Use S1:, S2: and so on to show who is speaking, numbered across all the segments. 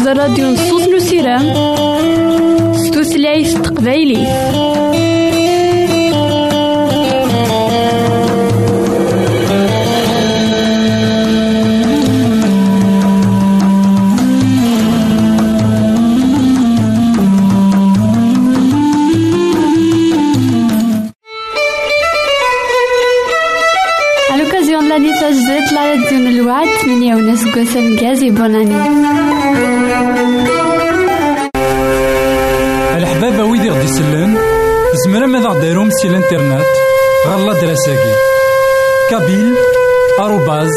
S1: الراديو نصوص نسيرام ستوثلايف تقبايلي.
S2: تجديد لا راديو الوعد 8 ونص قسم جازي بوناني.
S3: الحبابة ويدي غدي يسلن زمرا ماذا غديرهم سي الانترنت غالا دراساكي كابيل @awr.org.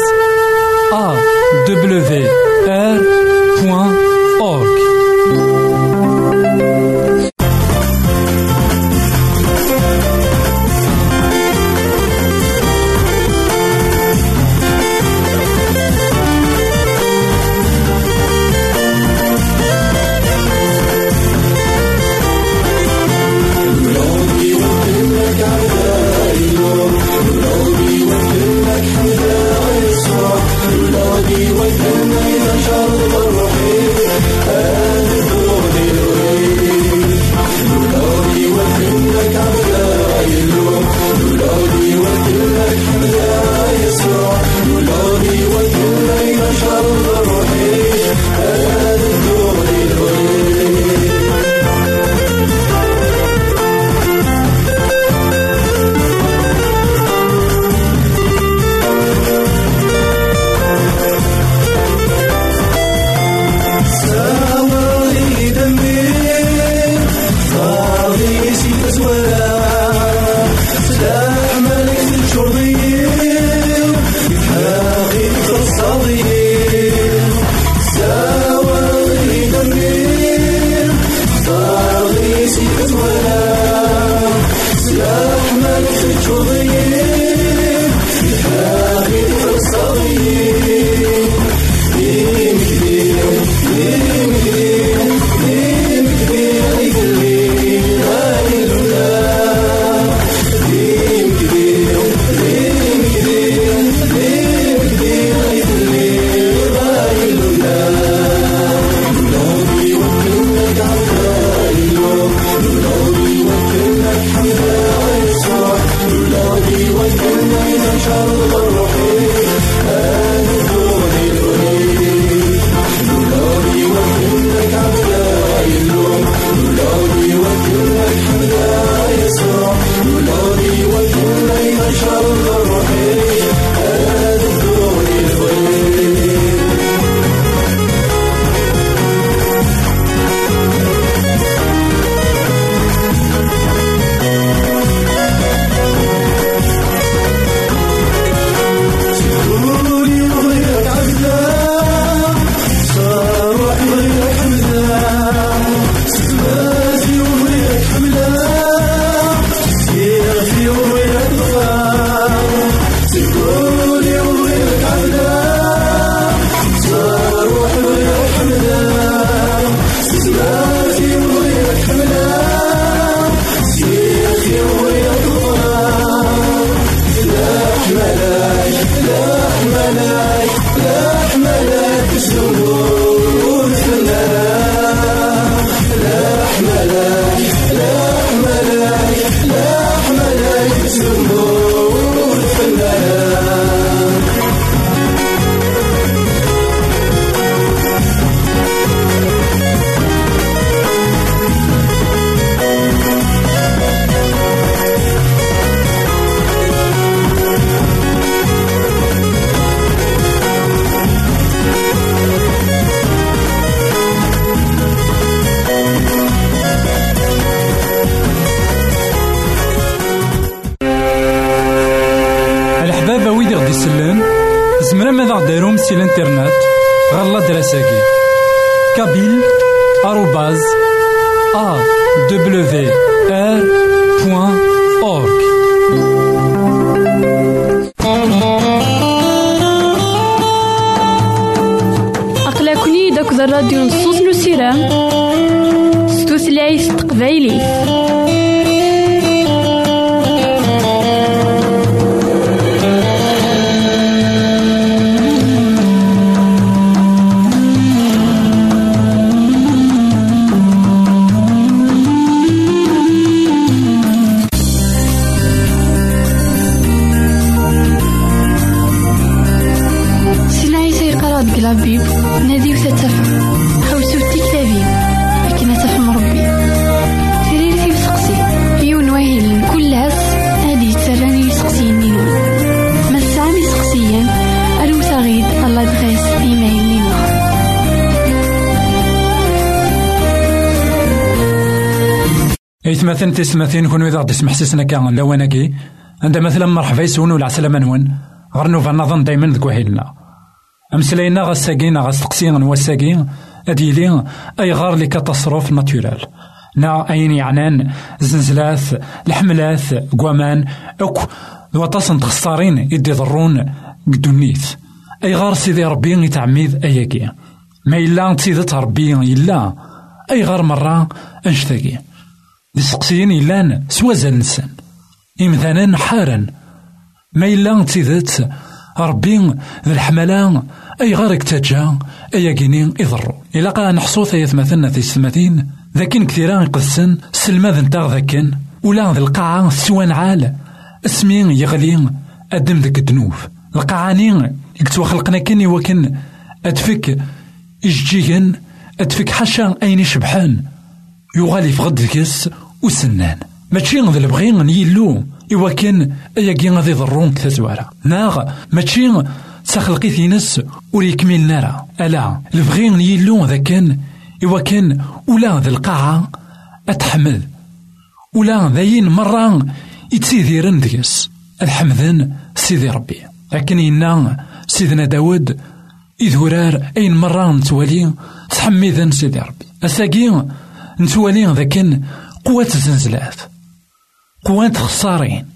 S3: زمرا ماذا غديرهم سي الانترنت غالا دراساكي كابيل @awr.org.
S1: أقلكني داك الراديو نصوص نسيرام ستوثلايف تقبايلي.
S2: تقرأ كلابيب نادي وتتفهم حوسو تكتابين لكن تفهم ربي تريد في سقسي يون واهل كل هس هادي تسراني سقسي نينون ما السامي سقسيا ألو تغيد الله دغيس إيميل لنا
S3: مثلا تسمثين كون إذا تسمح سيسنا كان لواناكي عند مثلا مرحبا يسون ولا عسلامة نون غرنو فنظن دايما ذك وهيلنا أمسلينا غساقين غسقسين وساقين أديلين أي غار لي كاتاستروف ناتورال نا أين يعنان زنزلات الحملات قوامان أوك وطاسن تخسارين يدي ضرون قدونيث أي غار سيدي ربي يتعميد أياكي ما إلا تسيدت ربي إلا أي غار مرة أنشتاقي لسقسيين إلان سوازل نسان إمثالا حارا ما إلا تسيدت ربي ذي الحملان أي غار اكتاجا أياكيني إضرو إلا قا نحصو ثيث مثلنا في السماتين ذاكين كثيران يقدسن سلماذ نتاغ ذاكين ولا ذي القاعة سوان عال اسمين يغلين أدم ذاك الدنوف القاعانين يكتوا خلقنا كني وكن أدفك إججيهن أدفك حشا أين شبحان يغالي في غد الكس وسنان ماشي ذا البغين يلو إوكن أياكي غادي يضرون كثازوارا ناغ ماشي تخلقي ثينس وريكمل نارا ألا البغين يلو ذا كان إوكن ولا ذا القاعة أتحمل ولا ذاين مرة يتسيذيرن ديس الحمدن سيدي ربي لكن إنا سيدنا داود إذورار أين مرة نتوالي تحميذن سيدي ربي أساقين نتوالي ذا كان قوة الزنزلات قوة خسارين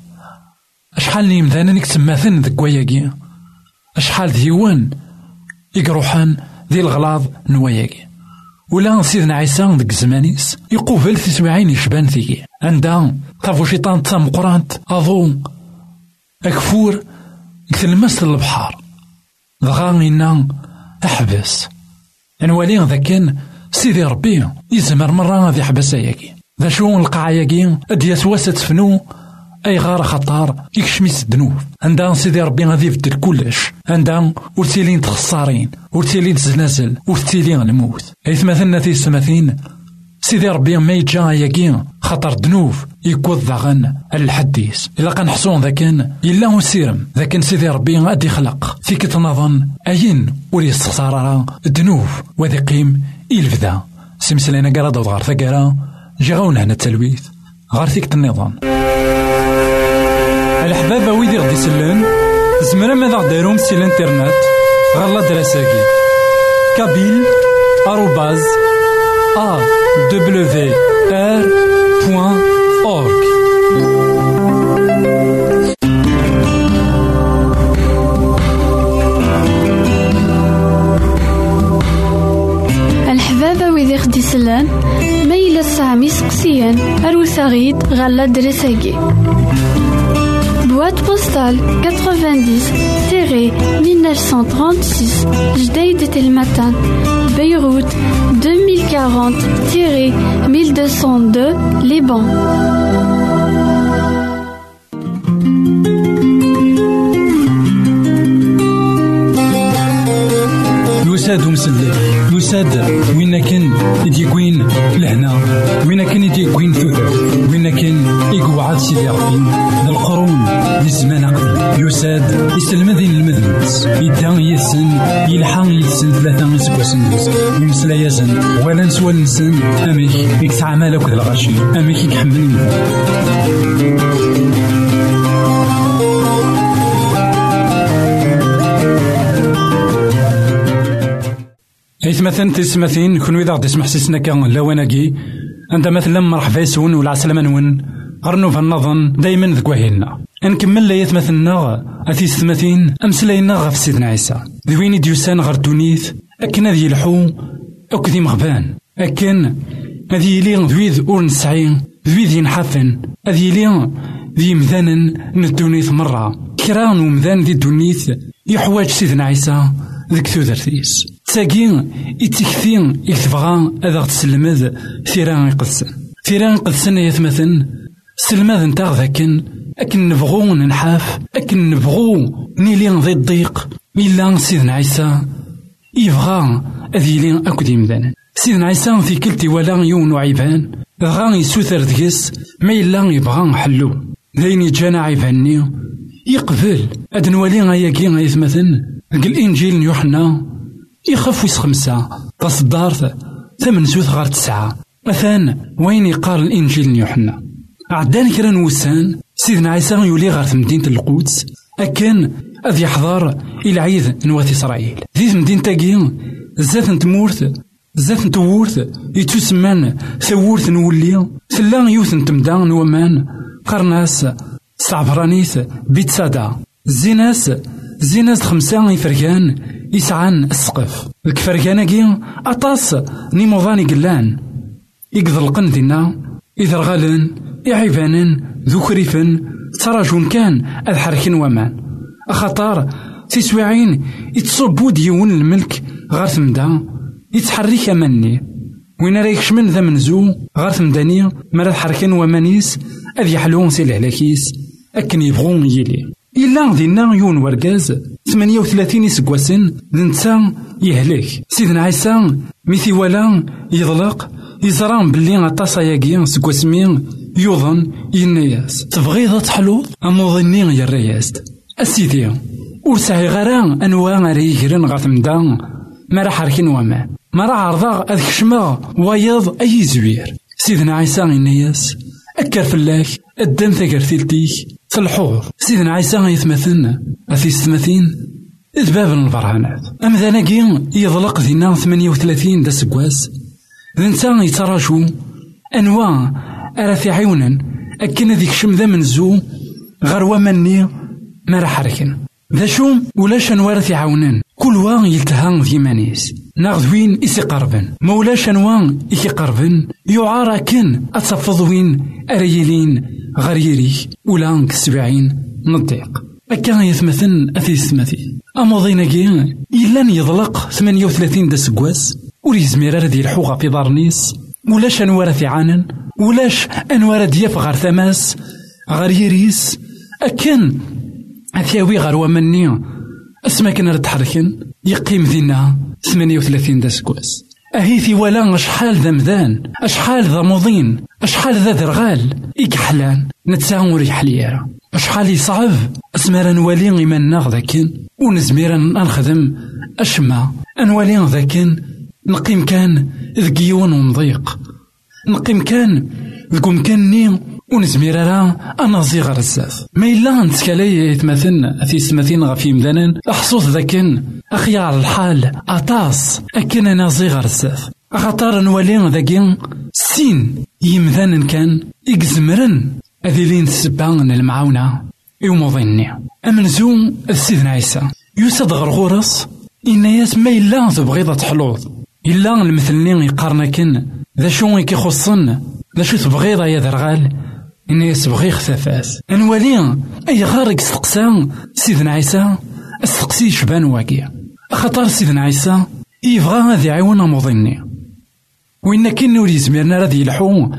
S3: أشحال نيمذانا نكتب مثلا ذا قوياقي أشحال ديوان يقروحان ذي الغلاظ نواياقي ولا سيدنا عيسى ذك زمانيس يقوبل في سبعين يشبان ثيكي عندها طافو شيطان تام قرانت أظو أكفور يتلمس البحار ضغانينا أحبس نوالي ذا كان سيدي ربي يزمر مرة غادي يحبس أياكي ذا شو القاعياكي أدياس واسات فنو أي غار خطار يكشميس الدنوب عندها سيدي ربي غادي يبدل كلش عندها ورتيلين تخسارين ورتيلين تزنازل ورتيلين الموت أيث مثلنا في السماثين سيدي ربي ما يجا ياكين خطر دنوف يكوض ضغن الحديث إلا كنحصون ذا كان إلا هو سيرم ذا كان سيدي ربي غادي يخلق فيك تنظن أين ولي استخسارا الدنوف وذي قيم إلفدا سمسلينا قرا دوض غار ثقرا جاونا هنا التلويث غار فيك النظام الحبابة ويدي غدي سلان زمرا ماذا غديرهم سي الانترنت غالا دراساكي كابيل آروباز awr.org
S2: الحبابة ويدي غدي سلان ميلا سامي سقسيان أروساغيد غالا دراساكي Boîte postale 90-1936 Jdeïd El Matin Beyrouth 2040-1202 Liban.
S3: يساد ومسلك يساد وين كان يديكوين لهنا وين كان يديكوين ثوثر وين كان يقعد سيدي ربي القرون للزمان قديم يساد يسلم ذي المذنبس يدان يسن يلحق يسن ثلاثة يسكوسن يمسلا يزن ولا نسوى النسن أميك يكتعمل أكد الغاشي أميك يكحمل إيث مثلا تسمثين كون إذا غدي تسمح سيسنا كان لواناكي عند مثلا مرحبا يسون ولا عسلامة نون غرنو فالنظن دايما ذك وهيلنا نكمل ليث مثلنا أثي ستمثين أمسلينا غف سيدنا عيسى ذوين ديوسان غر دونيث أكن هذي يلحو أك ذي مغبان أكن هذي يلي ذويذ أور نسعين ذويذ ينحفن هذي يلي ذي مذانا ندونيث مرة كران ومذان ذي دونيث يحواج سيدنا عيسى ذك ثوذرثيس تاقين يتكثين يتبغى أذا تسلمذ ثيران يقدسن يثمثن سلماذ نتاع ذاكن أكن نبغو ننحاف أكن نبغو نيلين ذي الضيق إلا سيدنا عيسى يبغى أذيلين أكد يمدانا. سيدنا عيسى في كلتي ولا يون وعيبان غا يسوثر ديس ما إلا يبغى حلو ذين يجانا عيباني يقبل أدنوالي غاياكي غايثمثن الإنجيل يوحنا يخف ويس 5 تصدارت 8 سوث غار 9 مثلا وين يقال الإنجيل يوحنا عدان كرا نوسان سيدنا عيسى يولي غار مدينة القدس أكن أذ يحضر إلى عيد نوات إسرائيل ذي مدينة تاقي زات نتمورت زات نتورت يتسمان ثورت نولي ثلا يوث نتمدا نومان قرناس صعبرانيث بيت سادا زيناس 5 يفرقان يسعان السقف الكفرقاناكي أطاس نيموضاني قلان يقذلقن دينا إذرغالن يعيبانن ذكريفن تراجون كان أذحركن ومان أخطار تسويعين يتصبو ديون الملك غار ثمدا يتحرك أماني وين رايكش من ذا منزو غار ثمداني مرا حركن ومانيس أذ يحلون سي العلاكيس أكن يبغون يلي إلا دينا يون ورقاز 38 يسقواسن ذنتا يهلك سيدنا عيسى ميثي ولا يضلق يزران بلي عطاسا ياكي سقواسمين يوضن ينياس تبغيض تحلوض أموضني يا الرياست أسيدي ورسعي غران أنواع ريجرن غاتمدا مرا حركين وما مرا عرضا أذ كشما ويض أي زوير سيدنا عيسى ينياس أكر فلاك الدم ثقرتيلتيك في الحوض سيدنا عيسى يثمثن أثي ستمثين إذباب البرهانات أم ذاناكي يضلق ذينا 38 دا سقواس ذنسان يتراجو أنواع أراثي عيونا أكن ذيك شمذا منزو غروا مني ما راح حركن ذا شوم ولاش أنوار عونان كل وان يلتهان في مانيس ناخذوين إسي قربن مولاش أنوان إكي قربن يعارا كن أتصفضوين أريلين غريري ولا كسبعين نضيق أكا يثمثن أثي ثمثين أمضينا كي إلا يضلق 38 دا سقواس وريزمير ردي الحوغة في دارنيس ولاش أنوار عانن ولاش أنوار دياف غار ثماس غريريس أكن أثياوي غار ومني اسما كنا نتحركن يقيم ذينا 38 دا سكواس أهيثي ولا أشحال ذا مذان أشحال ذا مضين أشحال ذا درغال إكحلان نتساور يحليارا أشحال يصعب اسما نولي إيماننا ذاكن ونزميرا نخدم أشما أنولي ذاكن نقيم كان ذكيون ومضيق نقيم كان ذكم كاني ونزميرا أنا زيغ رزاف ما إلا نتكالي يتمثلنا في سمثين غفي مذنن أحصوث ذاكن أخيار الحال أطاس أكن أنا زيغ رزاف أخطار نولي ذاكين سين يمذنن كان إكزمرن أذيلين السبان المعاونة يومضيني أمنزوم السيدنا عيسى يوسد غرغورس إناياس ما إلا تبغيضة حلوض إلا المثلين يقارنكن ذا شو يخصن ذا شو تبغيضة يا درغال إناياس بغي خثافاس أنوالي أي غارق استقسام سيدنا عيسى استقسي شبان واقيا خطر سيدنا عيسى يبغى هذا عيون مضيني وإن كنو يزميرنا راذي يلحو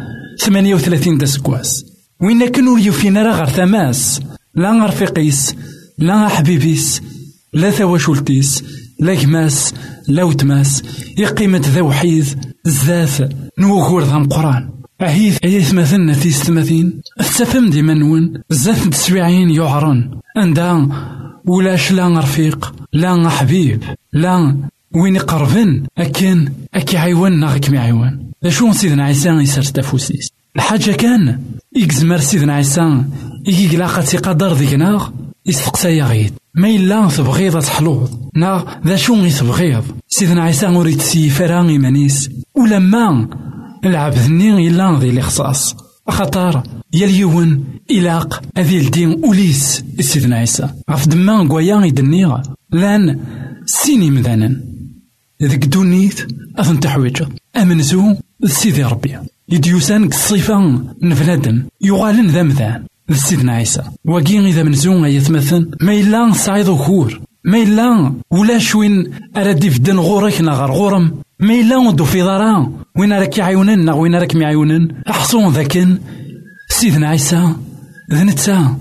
S3: 38 دا سكواس وإن كنو يوفينا راه غير ثماس لا غير فقيس لا حبيبيس لا ثواشولتيس لا كماس لا وتماس يقيمة ذا وحيد الزاث نوغور ذا مقران أهيث مثلنا في 30 استفهم ديما نون الزاث تسويعين يعرن عندها ولاش لا رفيق لا حبيب لا وين يقربن أكن أكي عيوان ناغك معيوان لشون سيدنا عيسى يسر تفوسيس الحاجة كان يكزمر سيدنا عيسى يقلاقة قدر ذيك ناغ يستقسى يغيد ما إلا تبغيض تحلوض ناغ ذا شون يتبغيض سيدنا عيسى مريد سيفران إيمانيس ولما العبدني إلا ذي الإخصاص خطار يليون إلاق أذي الدين أوليس سيدنا عيسى غف دما قويا يدنيغ لان سيني مذانا ذيك دونيت أثن تحويج أمنزو سيدي ربي يديوسان الصفة نفلادم يغالن ذا مذان سيدنا عيسى وقين إذا منزو يتمثل ما إلا صعيد وكور ما إلا ولا شوين أردي في دن غورك نغار غورم ما إلا ودو في ضرا وين راك عيونن وين راك معيونن أحصون ذاكن سيدنا عيسى ذنتا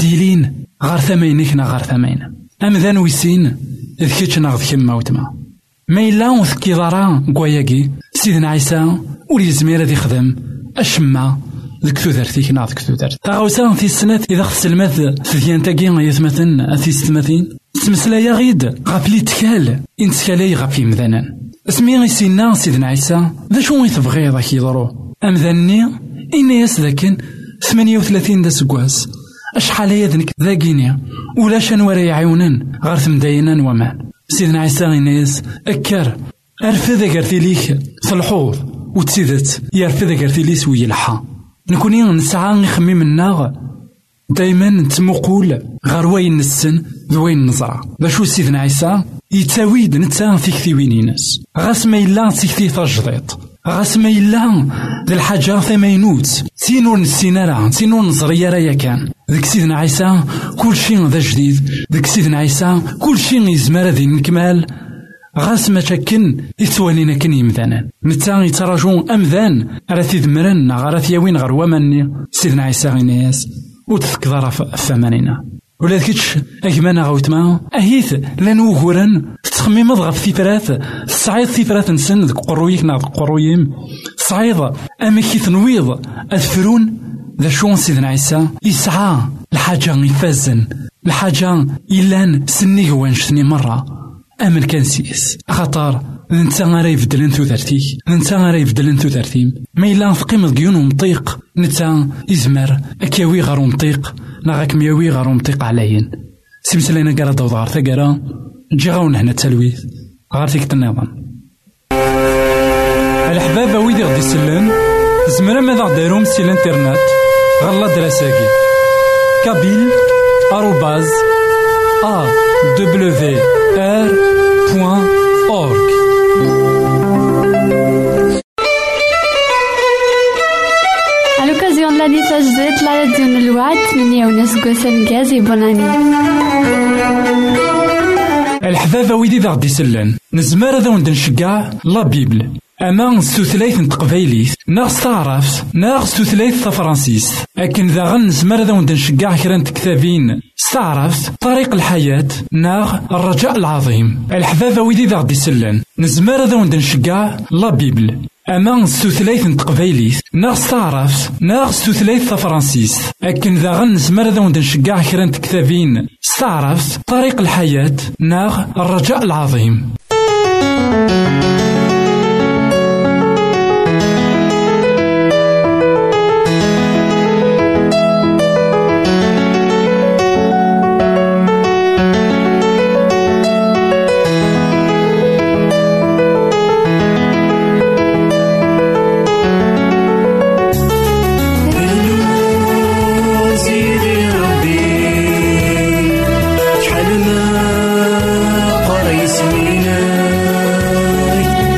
S3: أرديلين غار ثمينك نغار ثمين أم ذان ويسين ذكيتش نغذ كما وتما ما إلا وثكي ضرا كواياكي سيدنا عيسى ولي زمير هذا يخدم أشما ذك تودرتيك نا ذك تودرت تاغوسا في السنة إذا خص الماث ثديان تاكي يثمثن أثي ستماثين تمسلايا غيد غابلي تكال إنتكالي غابلي مذانا اسمي غيسينا سيدنا عيسى ذا شو يتبغي ذاك يضرو أمذني إني يسذاكن 38 دا سكواس أشحال يذنك ذاكيني ولا شنورا يعيونن غير ثمداينان ومان سيدنا عيسى غينيس أكار أرفذ كارتيليك في الحوض وتسيدت يرفذ كارتيليس ويلحى نكوني نسعى نخمي منا دايما نتمقول غير وين نسن ذوين نزرع باشو سيدنا عيسى يتاويد نتا تيكتي وينينس غاس ما إلا تيكتي تجديط غاس ما إلا ذي الحاجة ثمينوت سينور نسينارا سينور نزريا رايا كان ذيك سيدنا عيسى كل شيء ذا جديد ذيك سيدنا عيسى كل شيء يزمر ذي نكمال غاس ما شكن يتوانينا كن يمذانا نتا يتراجون أمذان راه ذمرن غارث يوين غير ومني سيدنا عيسى غينياس وتذكر فمانينا ولا ذكيتش أجمانا غوتما أهيث لنوغورن تخميم غف ثيفرات صعيد ثيفرات نسن ذك قرويك نا ذك قرويم صعيد أماكي تنويض أذفرون ذا شون سيدنا عيسى يسعى الحاجة يفازن الحاجة إلان سني وانشتني مرة أمن كان سيس خطر نتا غير يبدلن ثوثرتيك نتا غير يبدلن ثوثرتيم ما إلا نفقيم ذكيون ومطيق نتا يزمر أكياوي غير ومطيق ناغاك مياوي غير ومطيق عليين سيمسلينا كارا دوض غير ثقارا نجي غاون هنا التلويث غير تيكت النظام الحباب ويدي غدي سلان زمرا ماذا غديروم سي الانترنت غالا دراساكي كابيل آروباز awr.org
S2: À l'occasion de l'année Sajdet, la radio de l'Ouad, مني وناس قوسن جازي بوناني.
S3: الحبابة ويدي ذا غدي سلان نزمار ذا وند نشقع لا بيبل أما ستثليث نتقبايليث ناغ ستعرف ناغ ستثليث تفرانسيس أكن ذا غن نزمار ذا وند نشقع كران كتابين استعرف طريق الحياة ناغ الرجاء العظيم الحبابة ويدي ذا غدي سلان نزمار ذا وند نشقع لا بيبل أما ستثليث نتقبايليث ناغ ستعرف ناغ ستثليث تفرانسيس أكن ذا غن نزمار ذا وند نشقع كران كتابين استعرف طريق الحياة ناغ الرجاء العظيم
S4: قريس مناي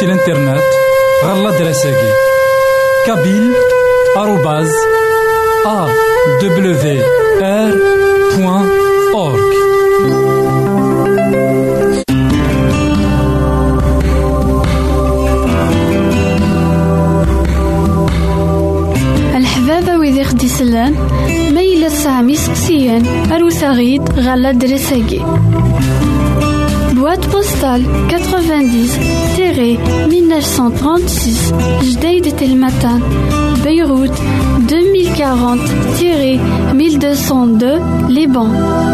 S3: سي الانترنت غالا دراساكي kabil@awr.org.
S2: الحبابة ويدي خدي سلان ميلا سامي سقسيان أروساغيد غالا دراساكي boîte postale 90-1936 Jdeï de Telmatan Beyrouth 2040-1202 Liban.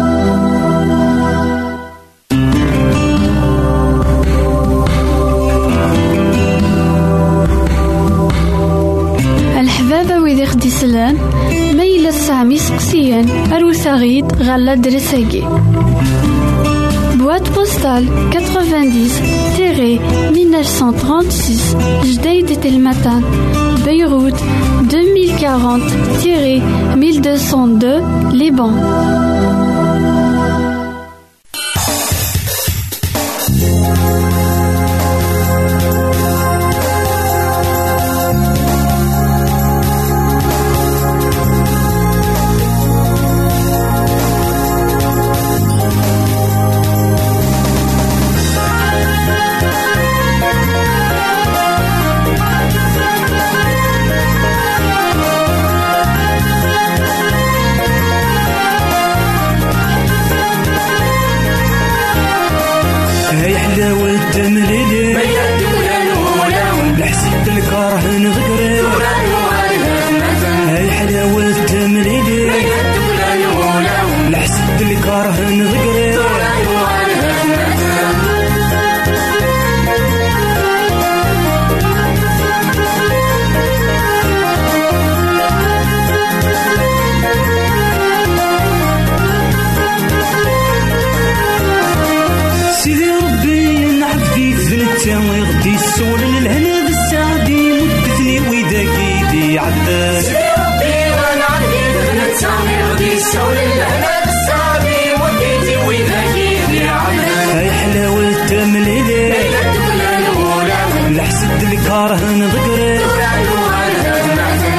S2: الحبابة ويدي خدي سلان ميلا سامي سقسيان أروساغيد غالا دراساكي boîte postale 90-1936 Jdeï de Telmatan Beyrouth 2040-1202 Liban.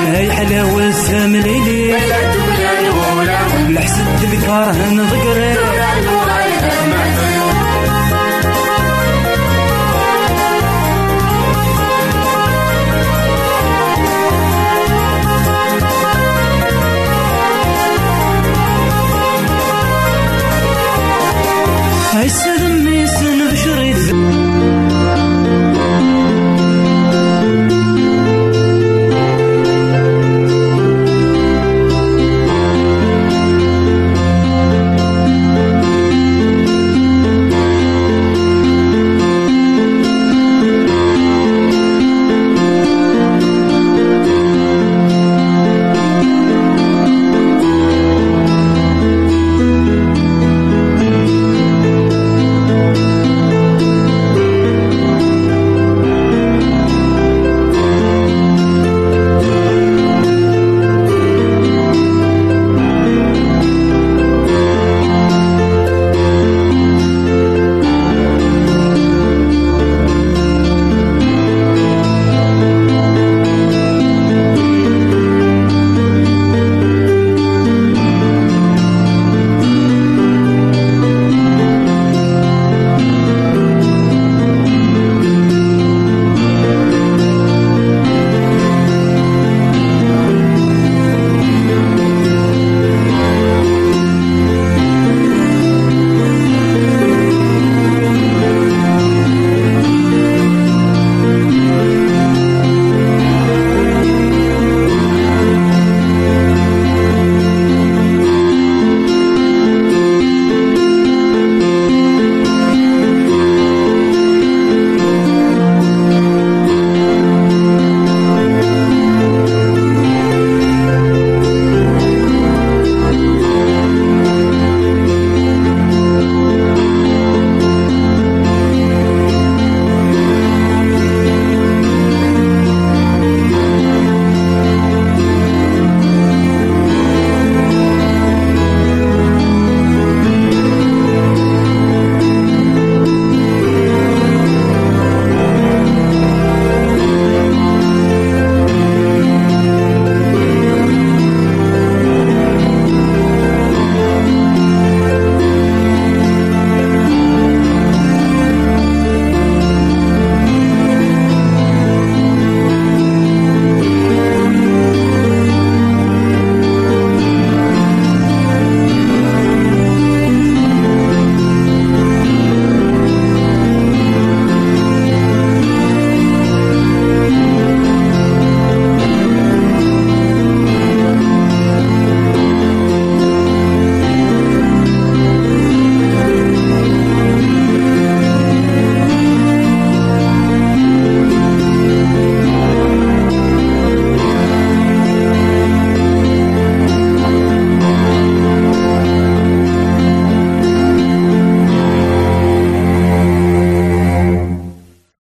S4: حلاوة سامليلي لحسد الكاره نذكري